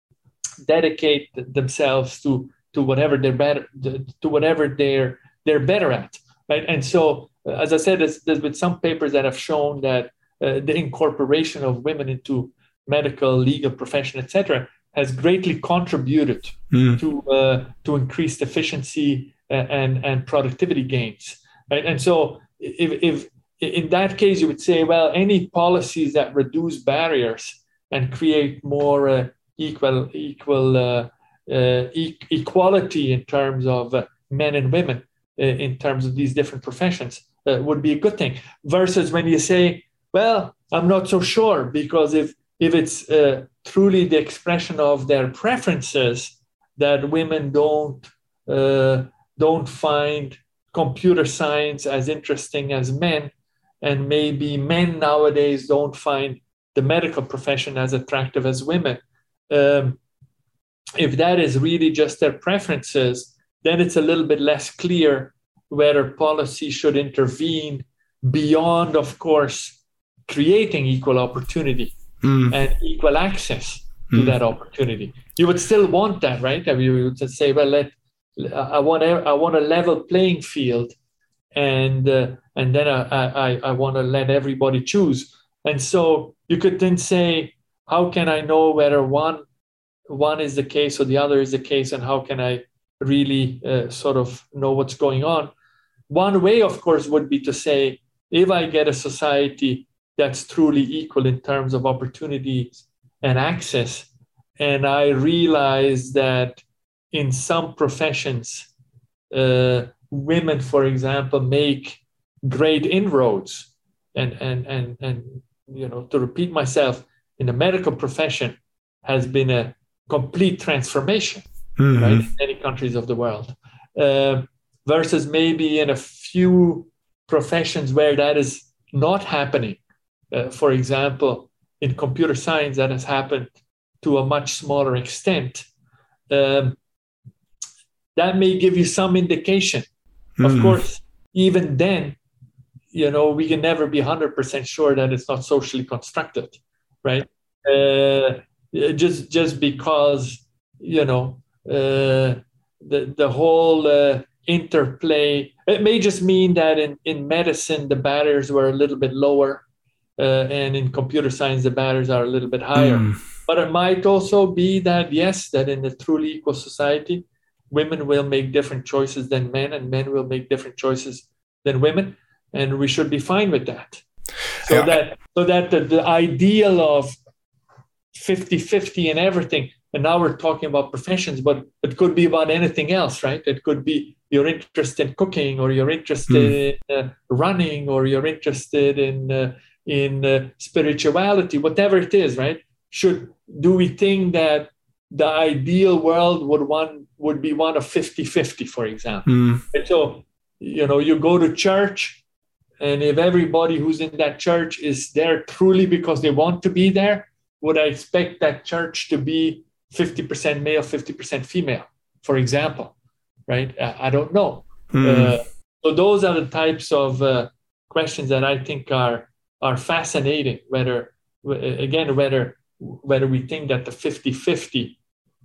dedicate themselves to, to whatever they're better, to whatever they're, they're better at, right? And so, as I said, there's, there's been some papers that have shown that uh, the incorporation of women into medical, legal profession, et cetera, has greatly contributed mm. to uh, to increased efficiency and and productivity gains, right? And so, if, if in that case you would say, well, any policies that reduce barriers and create more uh, equal equal uh, uh, e- equality in terms of uh, men and women uh, in terms of these different professions uh, would be a good thing. Versus when you say, well, I'm not so sure, because if if it's uh, truly the expression of their preferences that women don't uh, don't find computer science as interesting as men, and maybe men nowadays don't find the medical profession as attractive as women. Um, if that is really just their preferences, then it's a little bit less clear whether policy should intervene beyond, of course, creating equal opportunity. Mm. And equal access to mm. that opportunity. You would still want that, right? I mean, you would say, well, let I want a, I want a level playing field, and uh, and then I I, I want to let everybody choose. And so you could then say, how can I know whether one one is the case or the other is the case, and how can I really uh, sort of know what's going on? One way, of course, would be to say, if I get a society that's truly equal in terms of opportunities and access, and I realize that in some professions, uh, women, for example, make great inroads, and and and and you know, to repeat myself, in the medical profession has been a complete transformation, mm-hmm. right, in many countries of the world, uh, versus maybe in a few professions where that is not happening. Uh, for example, in computer science, that has happened to a much smaller extent. Um, that may give you some indication. Mm. Of course, even then, you know, we can never be one hundred percent sure that it's not socially constructed, right? Uh, just just because, you know, uh, the, the whole uh, interplay, it may just mean that in, in medicine, the barriers were a little bit lower. Uh, and in computer science, the barriers are a little bit higher. Mm. But it might also be that, yes, that in a truly equal society, women will make different choices than men, and men will make different choices than women. And we should be fine with that. So yeah. that so that the, the ideal of fifty-fifty in everything, and now we're talking about professions, but it could be about anything else, right? It could be you're interested in cooking, or you're interested mm. in uh, running, or you're interested in... Uh, in uh, spirituality, whatever it is, right? Should do we think that the ideal world would one would be one of fifty-fifty, for example? Mm. And so, you know, you go to church, and if everybody who's in that church is there truly because they want to be there, would I expect that church to be fifty percent male, fifty percent female, for example, right? I, I don't know. Mm. Uh, so those are the types of uh, questions that I think are are fascinating, whether, again, whether whether we think that the fifty-fifty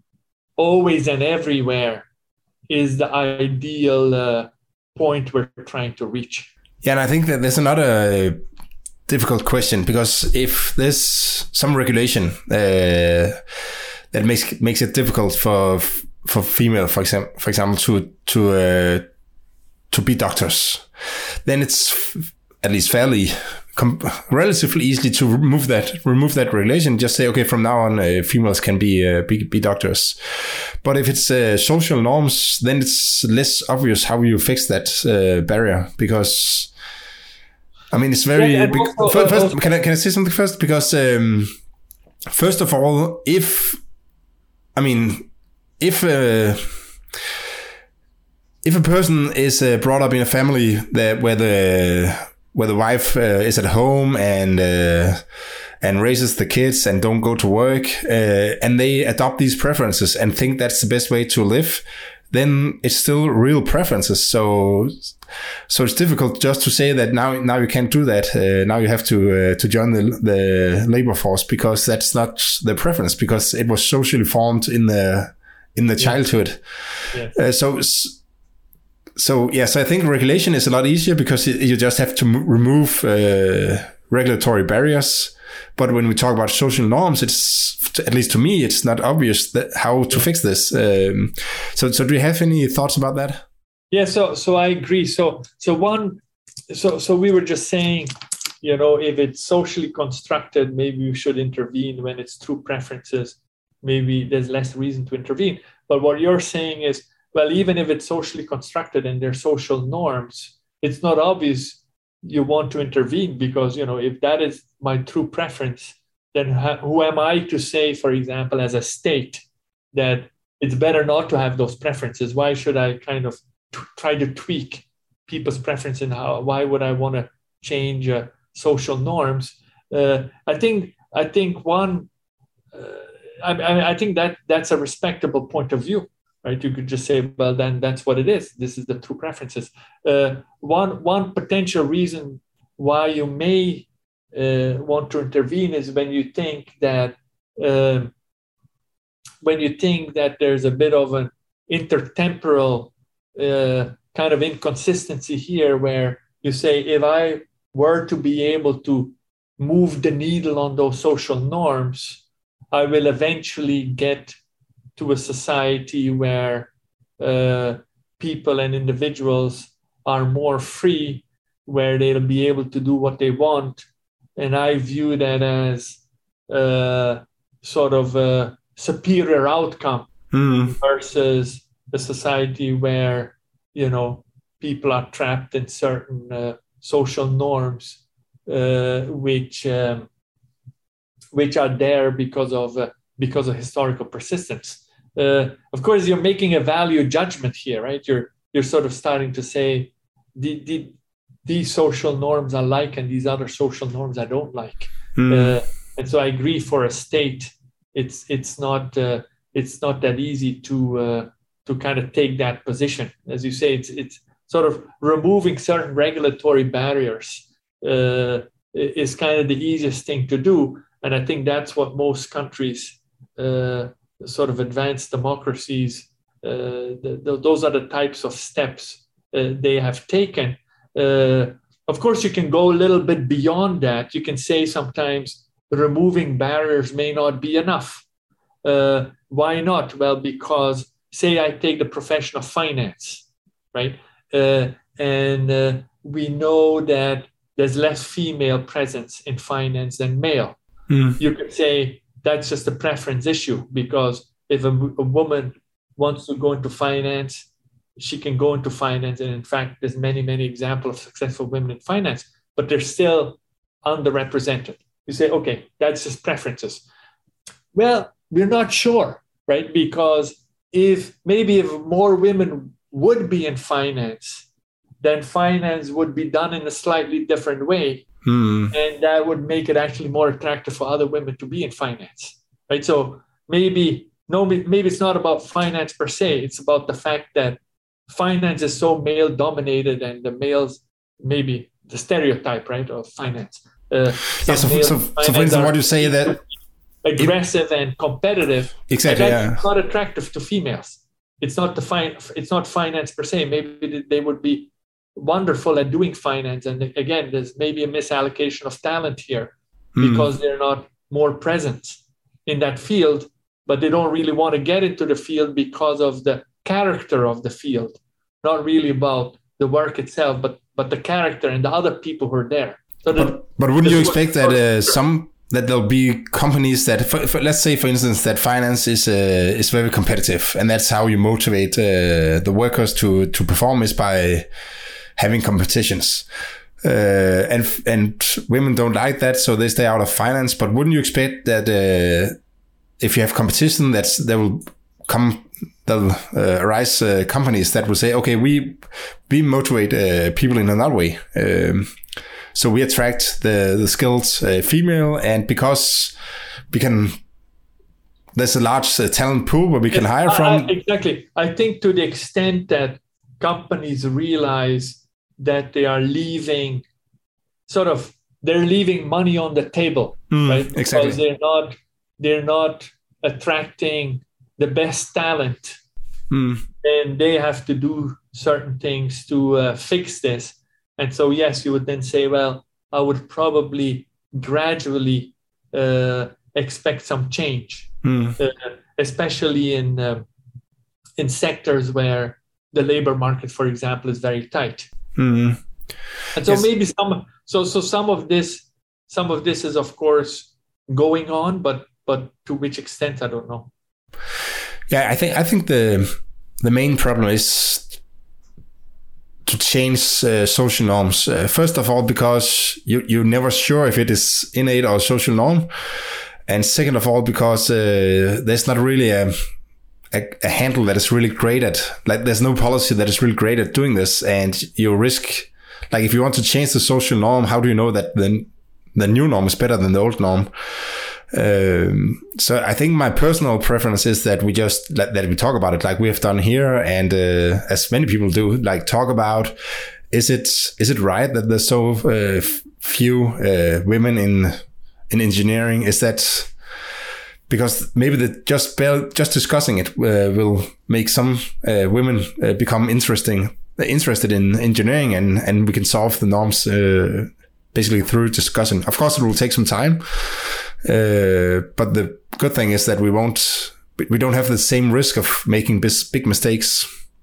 always and everywhere is the ideal uh, point we're trying to reach. Yeah, and I think that there's another difficult question, because if there's some regulation uh, that makes makes it difficult for for female, for example, for example, to to uh, to be doctors, then it's at least fairly com- relatively easily to remove that remove that regulation. Just say, okay, from now on, uh, females can be, uh, be be doctors. But if it's uh, social norms, then it's less obvious how you fix that uh, barrier, because I mean it's very. Yeah, big, also, first, uh, can I can I say something first? Because um, first of all, if I mean if. Uh, If a person is uh, brought up in a family that where the where the wife uh, is at home and uh, and raises the kids and don't go to work, uh, and they adopt these preferences and think that's the best way to live, then it's still real preferences. So so it's difficult just to say that now now you can't do that. Uh, now you have to uh, to join the the labor force, because that's not the preference, because it was socially formed in the in the yeah. childhood. Yeah. Uh, so. So, yeah, so I think regulation is a lot easier because you just have to m- remove uh, regulatory barriers. But when we talk about social norms, it's, at least to me, it's not obvious that how to fix this. Um, so, so do you have any thoughts about that? Yeah, so so I agree. So so one, so so we were just saying, you know, if it's socially constructed, maybe we should intervene. When it's through preferences, maybe there's less reason to intervene. But what you're saying is, well, even if it's socially constructed and they're social norms, it's not obvious you want to intervene, because, you know, if that is my true preference, then ha- who am I to say, for example, as a state, that it's better not to have those preferences? Why should I kind of t- try to tweak people's preference, and how? Why would I want to change uh, social norms? Uh, I think I think one, uh, I, I, I think that that's a respectable point of view. Right? You could just say, well, then that's what it is. This is the true preferences. Uh, one one potential reason why you may uh, want to intervene is when you think that uh, when you think that there's a bit of an intertemporal uh, kind of inconsistency here, where you say, if I were to be able to move the needle on those social norms, I will eventually get to a society where uh, people and individuals are more free, where they'll be able to do what they want. And I view that as uh, sort of a superior outcome mm. versus a society where, you know, people are trapped in certain uh, social norms, uh, which um, which are there because of uh, because of historical persistence. Uh, of course, you're making a value judgment here, right? You're you're sort of starting to say, the, the, these social norms I like, and these other social norms I don't like. Mm. Uh, and so I agree, for a state, it's it's not uh, it's not that easy to uh, to kind of take that position. As you say, it's it's sort of removing certain regulatory barriers uh, is kind of the easiest thing to do. And I think that's what most countries, uh, sort of advanced democracies, uh, the, the, those are the types of steps uh, they have taken. Uh, of course, you can go a little bit beyond that. You can say sometimes removing barriers may not be enough. Uh, why not? Well, because say I take the profession of finance, right? Uh, and uh, we know that there's less female presence in finance than male. Mm. You could say that's just a preference issue, because if a, a woman wants to go into finance, she can go into finance. And in fact, there's many, many examples of successful women in finance, but they're still underrepresented. You say, okay, that's just preferences. Well, we're not sure, right? Because if maybe if more women would be in finance, then finance would be done in a slightly different way. Hmm. And that would make it actually more attractive for other women to be in finance, right? So maybe, no, maybe it's not about finance per se. It's about the fact that finance is so male dominated, and the males, maybe the stereotype, right, of finance. Uh, yeah, so, so, so for instance, what you say that aggressive it, and competitive, exactly, and that's yeah. not attractive to females. It's not the fin- It's not finance per se. Maybe they would be wonderful at doing finance, and again, there's maybe a misallocation of talent here mm. because they're not more present in that field, but they don't really want to get into the field because of the character of the field, not really about the work itself, but but the character and the other people who are there. So but, that, but wouldn't you expect that uh, some that there'll be companies that, for, for, let's say, for instance, that finance is uh, is very competitive, and that's how you motivate uh, the workers to to perform is by having competitions. Uh, and and women don't like that, so they stay out of finance. But wouldn't you expect that uh, if you have competition, that's there will come there'll uh, arise uh, companies that will say, okay, we we motivate uh, people in another way. Um, so we attract the the skilled uh, female, and because we can, there's a large uh, talent pool where we can hire from. I, exactly. I think to the extent that companies realize that they are leaving sort of they're leaving money on the table, mm, right? Because exactly. they're not they're not attracting the best talent, mm. and they have to do certain things to uh, fix this. And so yes, you would then say, well, I would probably gradually uh, expect some change, mm. uh, especially in uh, in sectors where the labor market, for example, is very tight. Mm. And so yes. maybe some so so some of this some of this is of course going on, but but to which extent I don't know. Yeah, I think I think the the main problem is to change uh, social norms. Uh, first of all, because you you're never sure if it is innate or social norm, and second of all, because uh, there's not really a A, a handle that is really great at, like there's no policy that is really great at doing this, and you risk, like if you want to change the social norm, how do you know that the, the new norm is better than the old norm? Um, so I think my personal preference is that we just, that we talk about it like we have done here, and uh, as many people do, like talk about, is it is it right that there's so uh, few uh, women in in engineering? Is that because maybe the just just discussing it uh, will make some uh, women uh, become interesting interested in engineering, and and we can solve the norms uh, basically through discussing. Of course, it will take some time, uh, but the good thing is that we won't we don't have the same risk of making big, big mistakes.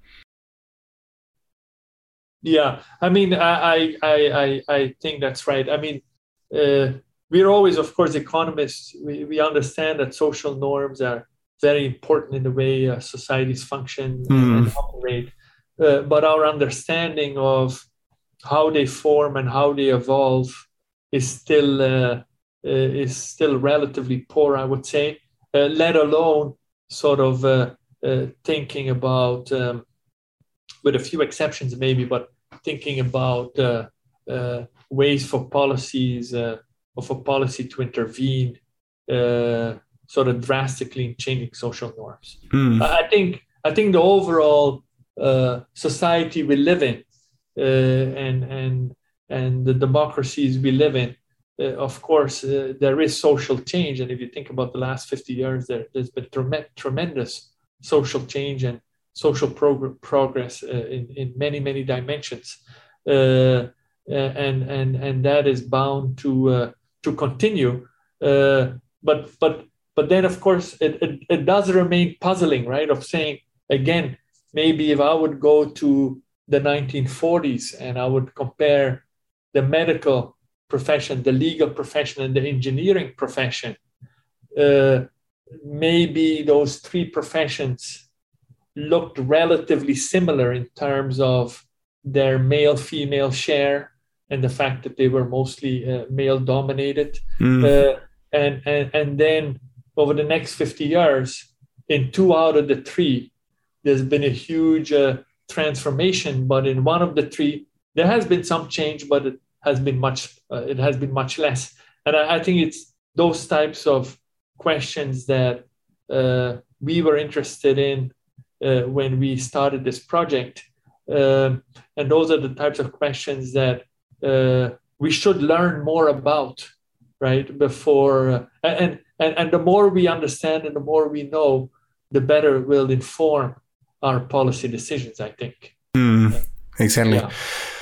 Yeah, I mean, I I I I think that's right. I mean. Uh, We're always, of course, economists. We, we understand that social norms are very important in the way uh, societies function mm. and operate. Uh, but our understanding of how they form and how they evolve is still uh, uh, is still relatively poor, I would say. Uh, let alone sort of uh, uh, thinking about, um, with a few exceptions maybe, but thinking about uh, uh, ways for policies. Uh, of a policy to intervene uh, sort of drastically in changing social norms. Mm. I think I think the overall uh, society we live in uh, and and and the democracies we live in, uh, of course, uh, there is social change. And if you think about the last fifty years, there, there's been trem- tremendous social change and social prog- progress uh, in, in many, many dimensions. Uh, and, and, and that is bound to uh, to continue, uh, but but but then of course it, it it does remain puzzling, right? Of saying again, maybe if I would go to the nineteen forties and I would compare the medical profession, the legal profession, and the engineering profession, uh, maybe those three professions looked relatively similar in terms of their male-female share, and the fact that they were mostly uh, male-dominated. Mm. Uh, and, and, and then over the next fifty years, in two out of the three, there's been a huge uh, transformation. But in one of the three, there has been some change, but it has been much, uh, it has been much less. And I, I think it's those types of questions that uh, we were interested in uh, when we started this project. Um, and those are the types of questions that Uh, we should learn more about, right? Before uh, and and and the more we understand and the more we know, the better it will inform our policy decisions, I think. Mm, exactly. Yeah.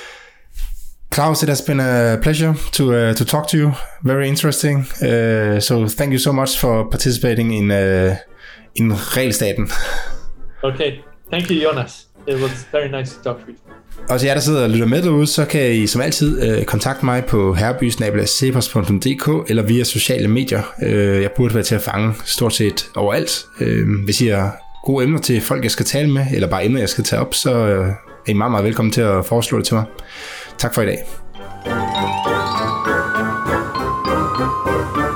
Klaus, it has been a pleasure to uh, to talk to you. Very interesting. Uh, so thank you so much for participating in uh, in Regelstaten. Okay, thank you, Jonas. It was very nice to talk to you. Og til jer, der sidder og lytter med derude, så kan I som altid øh, kontakte mig på herreby bindestreg cepos punktum d k eller via sociale medier. Øh, jeg burde være til at fange stort set overalt. Øh, hvis I har gode emner til folk, jeg skal tale med, eller bare emner, jeg skal tage op, så øh, er I meget, meget velkommen til at foreslå det til mig. Tak for i dag.